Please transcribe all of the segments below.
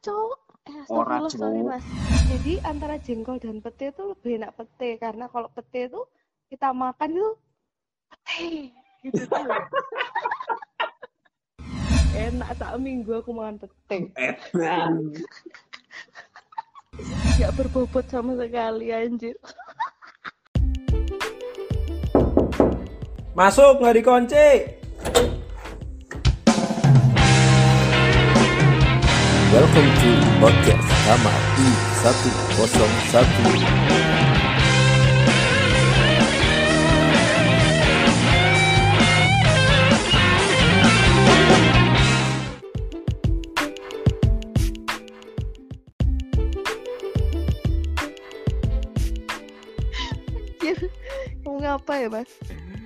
cok. Ora, Astagfirullah, sorry Cuk. mas. Jadi antara jengkol dan pete itu lebih enak pete, karena kalau pete itu kita makan itu pete gitu tuh. Enak, sak minggu aku makan pete. Edan. Gak berbobot sama sekali anjir. Masuk nggak dikunci. Welcome to podcast Kamar I101. Anjir, mau ngapa ya mas?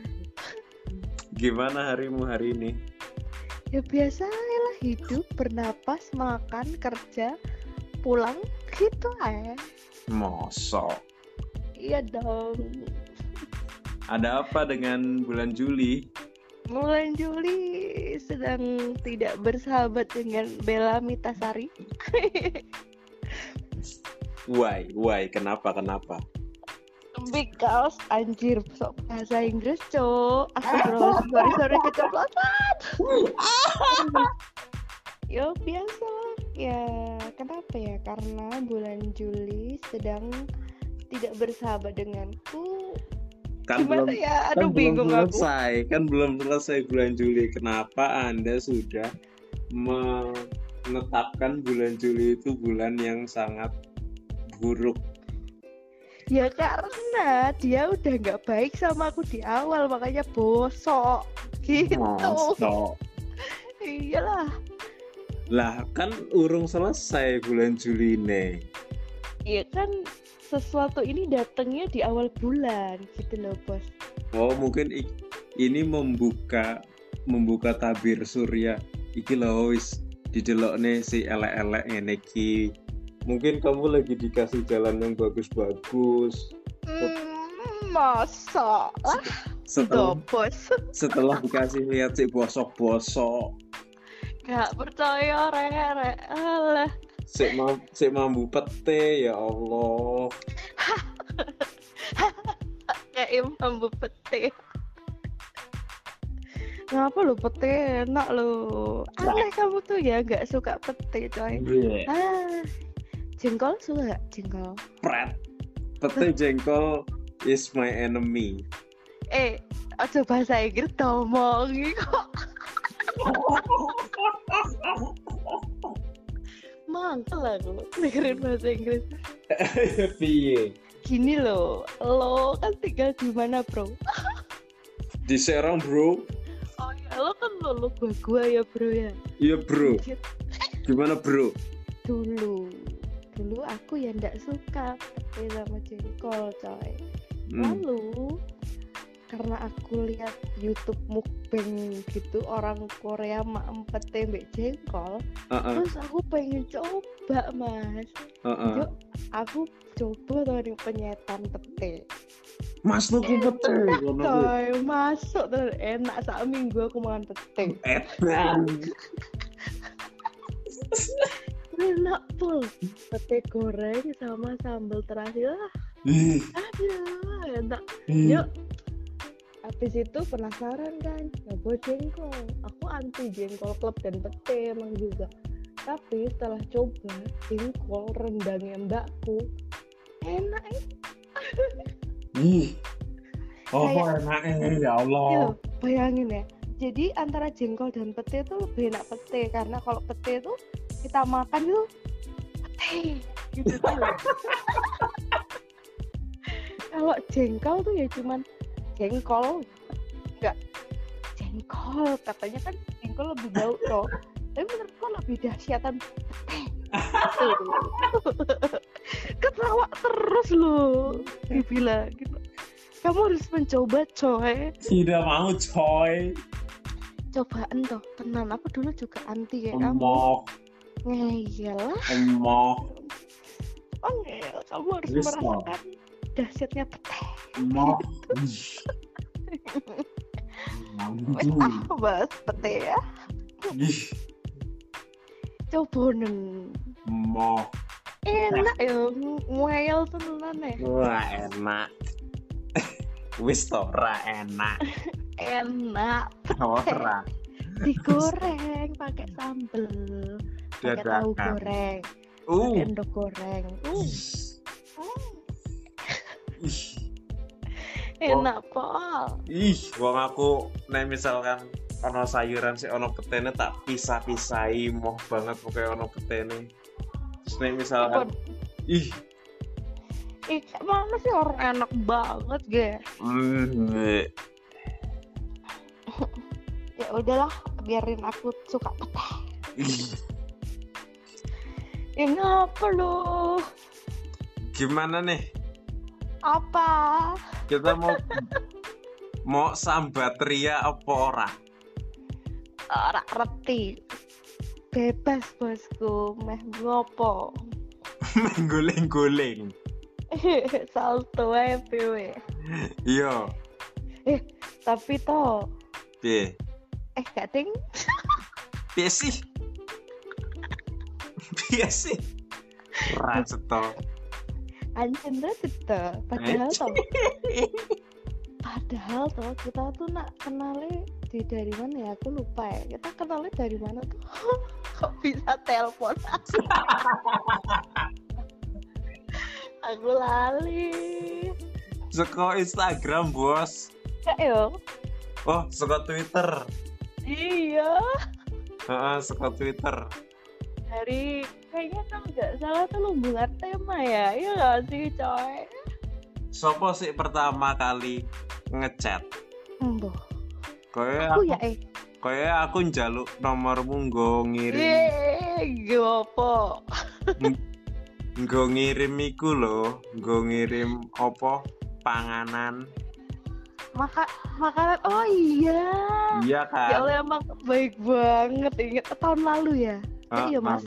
Gimana harimu hari ini? Ya biasa lah, hidup, bernapas, makan, kerja, pulang, gitu aja. Mosok. Iya dong. Ada apa dengan bulan Juli? Bulan Juli sedang tidak bersahabat dengan Bella Mitasari. Why? Kenapa? Because anjir, sok bahasa Inggris cok. Astagfirullah, sorry keceplosan. Yo biasa ya, kenapa ya? Karena bulan Juli sedang tidak bersahabat denganku. Gimana ya? Aduh, bingung aku. Kan belum selesai bulan Juli. Kenapa Anda sudah menetapkan bulan Juli itu bulan yang sangat buruk? Ya karena dia udah nggak baik sama aku di awal, makanya bosok gitu. Mosok. Iyalah. Lah kan urung selesai bulan Juli nih. Iya kan, sesuatu ini datangnya di awal bulan gitu loh bos. Oh mungkin ini membuka tabir surya. Iki lho wis didelokne si elek-elek ngene iki. Mungkin kamu lagi dikasih jalan yang bagus-bagus. Masa lah bos. Setelah dikasih lihat si bosok-bosok. Gak percaya re. Alah. Sik mambu pete ya Allah. Kayak mambu pete. Ngapa lo pete enak lo? Aneh kamu tuh ya, gak suka pete coy. Jengkol suka jengkol. Pret. Pete jengkol is my enemy. Aja bahasa Inggris domongi kok. Mangkel aku dengerin bahasa Inggris. Piye? Gini lo kan tinggal di mana bro? Di Serang bro. Oh ya, lo kan lo gua ya bro ya. Iya bro. Gimana bro? Dulu aku ya ndak suka pete sama jengkol coy. Lalu karena aku lihat YouTube mukbang gitu, orang Korea makan pete mbek jengkol, terus aku pengen coba mas. Yuk aku coba tadi penyetan pete. Mas tuku pete coy, masuk terus enak, sak minggu aku makan pete. Enak pul, pete goreng sama sambal terasi lah. Aduh, enak. Yuk. Habis itu penasaran kan, nyoba jengkol. Aku anti jengkol klub dan pete emang juga. Tapi setelah coba jengkol rendangnya mbakku, enak enaknya ya Allah. Bayangin ya. Jadi antara jengkol dan pete itu lebih enak pete, karena kalau pete itu kita makan itu pete gitu tuh. Kalau jengkol tuh ya cuman jengkol, enggak jengkol, katanya kan jengkol lebih bau toh, tapi menurutku lebih dahsyatan ketawa terus lo dibilang gitu. Kamu harus mencoba coy. Tidak mau coy. Cobaan toh tenan, aku dulu juga anti kayak kamu. Ngeyel lah. Kamu harus merasakan dahsyatnya pete. Bahas pete ya. cobonen. Moh. Enak ya, ngeyel tenan ya. Wah, enak. Wis to ra enak. Enak. Ora. Digoreng pakai sambel. Pakai tahu Dadakan. goreng. Pakai endok goreng. Ih. Enak pol. Ih, wong aku nek misalkan ono sayuran sih ono petene tak pisah-pisahi moh banget pokoknya ono petene. Terus nek misalkan ih, Mana sih orang enak banget ge. Mbak. Ya udahlah, biarin aku suka peteh. Ih, Ya ngapa lo? gimana nih? Apa? Kita mau sambat ria apa ora? Ora reti. Bebas bosku, meh ngopo. Guling-guling. Salto ae piye. Iya, Tapi toh piye? gak ding. Piye sih? Piye sih? Ra ceto. Anjen banget toh. Padahal toh kita tuh nak kenalnya dari mana ya? Aku lupa ya. Kita kenalnya dari mana tuh? Kok bisa telepon? Aku lali. Seko Instagram, Bos. Kak yo. Oh, seko Twitter. Iya. Heeh, seko Twitter. Dari kayaknya kalau nggak salah tuh lumbungan tema ya. Iya nggak sih coy? Sopo sih pertama kali ngechat? Embo. Koyo Aku ya aku njaluk nomormu nggo ngirim. Gopo. Nggo ngirim iku lho, nggo ngirim apa? Panganan. Makanan. Oh iya. Iya kan? Ya Allah emang baik banget. Ingat tahun lalu ya? Iya mas.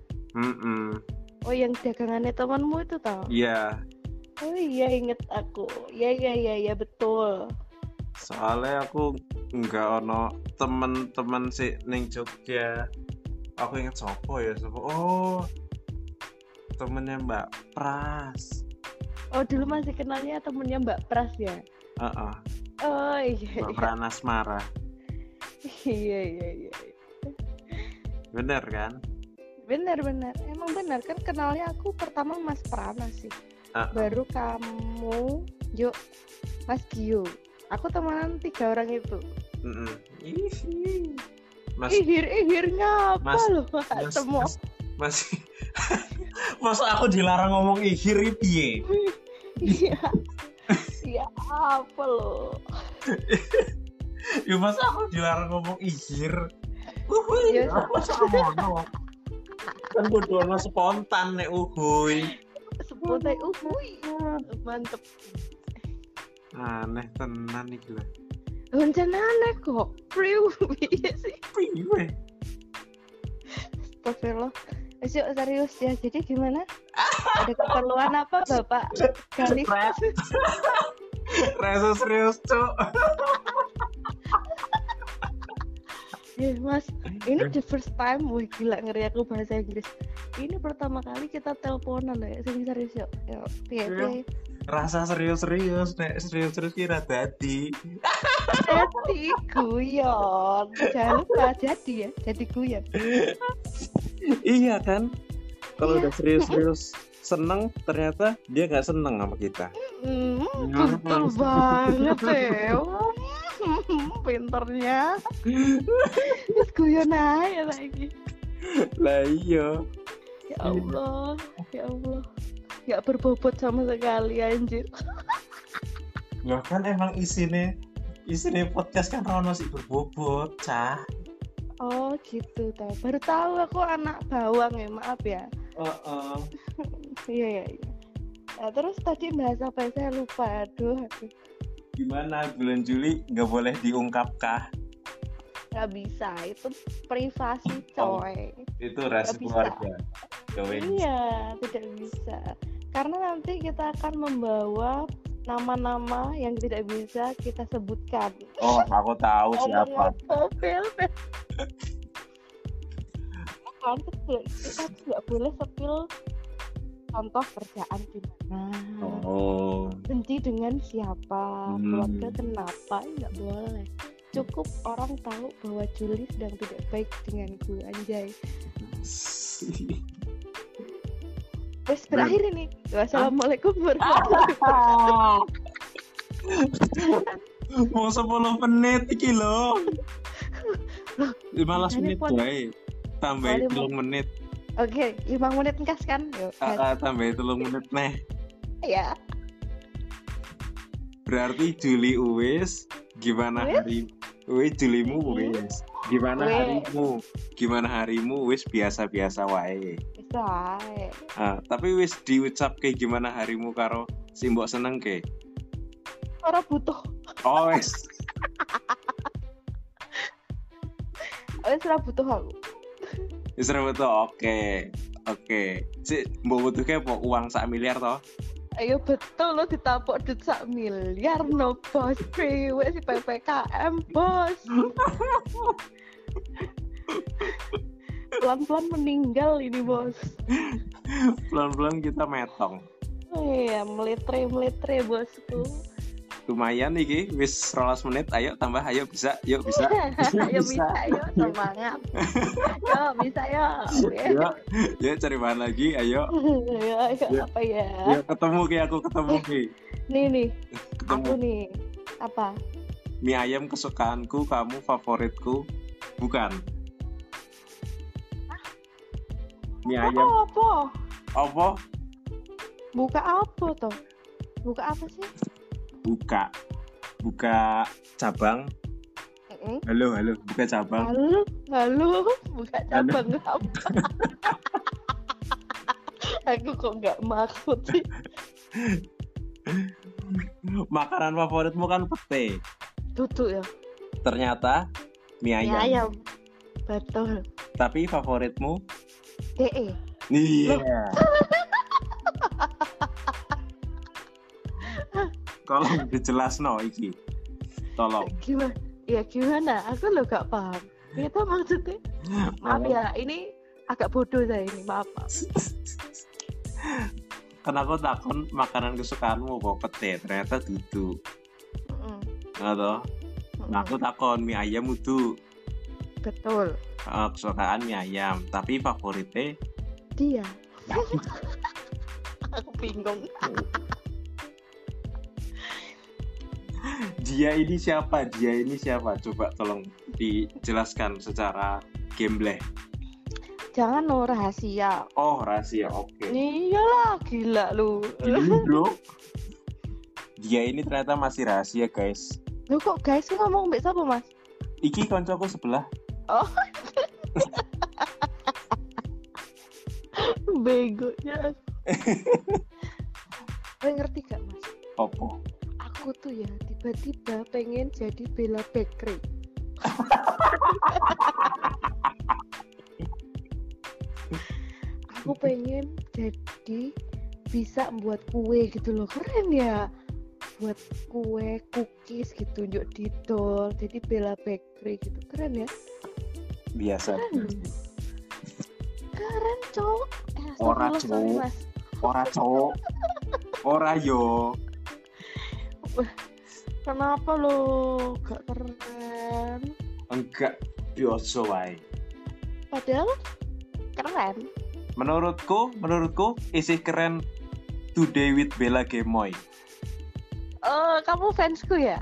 Oh yang dagangannya temanmu itu tau? Iya. Oh iya inget aku. Iya betul. Soalnya aku nggak ono temen-temen sih ning Jogja. Aku inget sopo ya, sopo. Oh, temennya Mbak Pras. Oh dulu masih kenalnya temennya Mbak Pras ya? Heeh. Oh iya. Mbak Pranasmara. Iya. Bener kan? Bener. Emang bener kan kenalnya aku pertama Mas Prana sih. Baru kamu, Mas Gio. Aku temenan 3 orang itu. Mas, ihir ngapa loh semua. Mas, masa aku dilarang ngomong ihir piye? Iya apa loh? Ya masa aku dilarang ngomong ihir? Ya Masa ngono? Kan bodoh spontan nek uhuy. Spontan uhuy. Mantep. Aneh tenan iki lho. Loncen aneh kok. Iya sih. Piye? Astagfirullah. Yuk serius ya. Jadi gimana? Ada keperluan apa Bapak Galih? Rasa serius, Cuk. Mas, ini the first time. Wih gila ngeri aku bahasa Inggris. Ini pertama kali kita teleponan ya. Serius yuk. Piye. Rasa serius-serius, nek serius-serius kira dadi. Jadi guyon. Jangan lupa jadi ya. Jadi guyon. Iya kan? Kalau udah serius-serius seneng, ternyata dia nggak seneng sama kita. Betul banget ya. Pinternya. Terus guyon aja lagi. Lah iya. Ya Allah. Gak berbobot sama sekali anjir. Ya kan emang isine podcast kan ono sih berbobot, Cah. Oh gitu tau. Baru tahu aku anak bawang ya, maaf ya. Iya. Nah, terus tadi bahas apa saya lupa. Aduh. Gimana bulan Juli nggak boleh diungkapkah? Gak bisa, itu privasi coy. Itu rahasia keluarga. Iya, tidak bisa. Karena nanti kita akan membawa nama-nama yang tidak bisa kita sebutkan. Oh, aku tahu siapa. kan kita nggak boleh spill contoh kerjaan gimana, benci dengan siapa, keluarga kenapa, nggak boleh. Cukup orang tahu bahwa Juli sedang tidak baik denganku, anjay. Wes berakhir ini. Wassalamualaikum warahmatullahi wabarakatuh. Mau 10 menit iki lho. 15 menit wae. Tambah 3 menit. Oke, 5 menit engkas kan? Yuk. Tambah 3 menit neh. Ya. Berarti Juli wis, gimana hari? Wis Julimu wis. Gimana harimu? Gimana harimu wis biasa-biasa wae. Bisa. Tapi wis diucap kayak gimana harimu karo si mbok seneng ke? Ora butuh. Oh wis. Wis ora butuh aku. Wis ora butuh. Oke. Si mbok butuh ke apa uang 1 miliar toh? Ayo betul lo ditapok duit 1 miliar no bos. Priwe si PPKM bos. Pelan-pelan meninggal ini bos. Pelan-pelan kita metong. Oh iya, meletre bosku. Lumayan iki wis 12 menit. Ayo tambah, ayo bisa. Ayo bisa, ayo semangat. Yo bisa yo. Ya cari bahan lagi, ayo. Ayo apa ya? Ya ketemu aku ki. Nih. Ketemu. Aku nih. Apa? Mie ayam kesukaanku, kamu favoritku. Bukan. Mie ayam. Apa? Buka apa toh? Buka apa sih? Buka cabang. Halo, buka cabang. Halo, buka cabang apa? Aku kok nggak maksud sih. Makanan favoritmu kan pete. Tutu ya. Ternyata mie ayam. Mie ayam. Betul. Tapi favoritmu? DE. Iya. Tolong dijelasno iki. Tolong. Gimana? Aku lo gak paham. Itu maksudnya. Maaf ya, ini agak bodoh saya ini. Maaf. Kan aku takon makanan kesukaanmu apa pete, ternyata dudu. Atau aku takon mie ayam udu. Betul. Kesukaan mie ayam, tapi favoritnya dia. Aku bingung. Dia ini siapa? Coba tolong dijelaskan secara gambling. Jangan rahasia. Oh, rahasia. Oke. Iyalah, gila lu. Gini, bro. Dia ini ternyata masih rahasia, guys. Lu kok guys ngomong mbak siapa, Mas? Iki koncoku sebelah. Oh. Begonya. Ngerti gak, Mas? Apa? Aku tuh ya tiba-tiba pengen jadi Bella Bakery. Aku pengen jadi bisa buat kue gitu loh, keren ya. Buat kue, cookies gitu, yuk didol. Jadi Bella Bakery gitu, keren ya. Biasa. Keren cowok. Ora cowok. Ora cowok. Ora yo. Kenapa lo gak keren? Enggak, biasa wae. Padahal keren. Menurutku isi keren Today with Bella Gemoy. Oh, kamu fansku ya?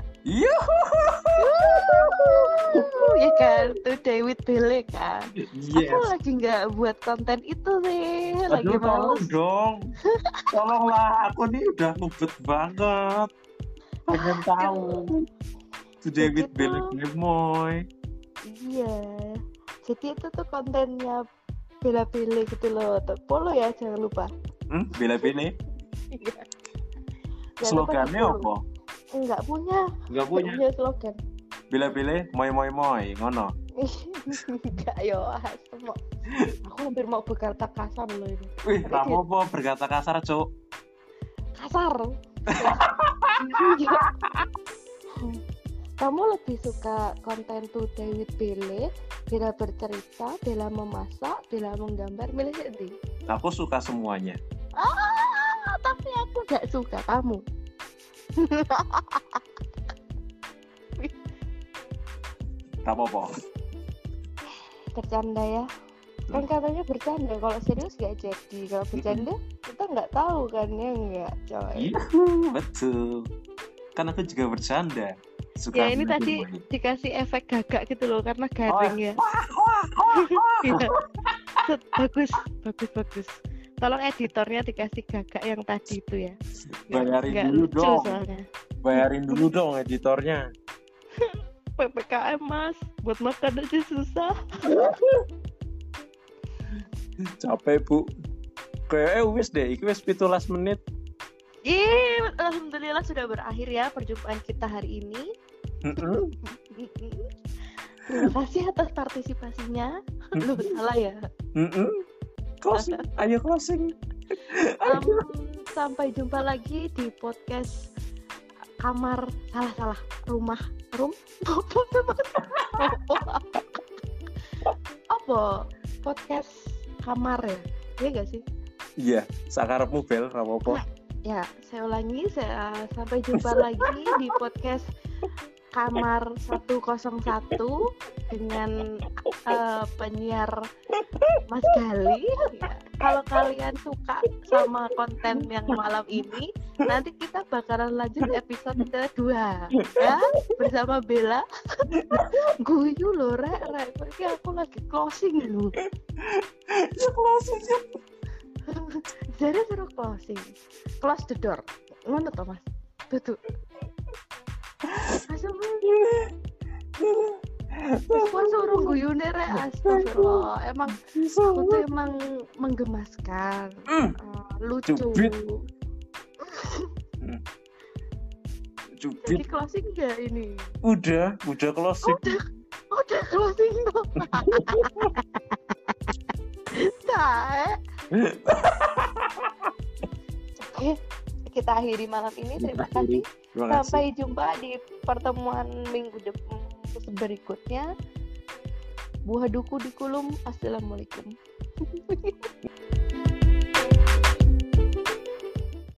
Ya kan, Today with Bella kan. Yes. Aku lagi nggak buat konten itu nih, lagi males. Dong. Tolonglah, aku nih udah ngebet banget. Pengen tahu. Today with Bella Gemoy. Iya. Jadi itu tuh kontennya Bella gitu loh. Follow ya, jangan lupa. Bella. Iya. Slogannya apa? Enggak punya slogan. Bella moy ngono. Enggak yo, semua. Aku hampir mau berkata kasar loh ini. Wih, kamu apa berkata kasar, Cuk? Kasar. Kamu lebih suka konten Today with Bella, Bella bercerita, Bella memasak, Bella menggambar, milih sendiri? Aku suka semuanya. Tapi aku gak suka kamu. Tak apa-apa. Bercanda ya. Kan katanya bercanda, kalau serius gak jadi. Kalau bercanda kita nggak tahu kan ya nggak coy. Iya, betul. Kan aku juga bercanda. Suka Ya ini tadi dikasih efek gagak gitu loh karena garing ya. Iya. Bagus. Tolong editornya dikasih gagak yang tadi itu ya. Bayarin dulu lucu dong. Soalnya. Bayarin dulu dong editornya. PPKM mas, buat makan aja susah. Capek bu. Kayaknya wis deh, iki wis 17 menit. Alhamdulillah sudah berakhir ya perjumpaan kita hari ini. Terima kasih atas partisipasinya. Lu salah ya. Closing, ayo closing. Sampai jumpa lagi di podcast kamar rumah apa podcast kamar ya? Iya gak sih? Iya, sakarepmu bel apa-apa. Ya, saya ulangi, sampai jumpa lagi di podcast kamar 101 dengan penyiar Mas Gali. Ya, kalau kalian suka sama konten yang malam ini, nanti kita bakalan lanjut episode kedua ya bersama Bella. Guyu loh rek, ini aku lagi closing dulu. Ya closing ya. Jadi suruh closing, close the door, ngono toh mas, tutup. Asal Gua suruh guyune rek, astagfirullah. Emang aku tuh emang menggemaskan, lucu. Jadi closing gak ini? Udah closing. Udah closing dong. Oke, kita akhiri malam ini. Terima kasih. Sampai jumpa di pertemuan minggu berikutnya. Buah duku di kulum. Assalamualaikum.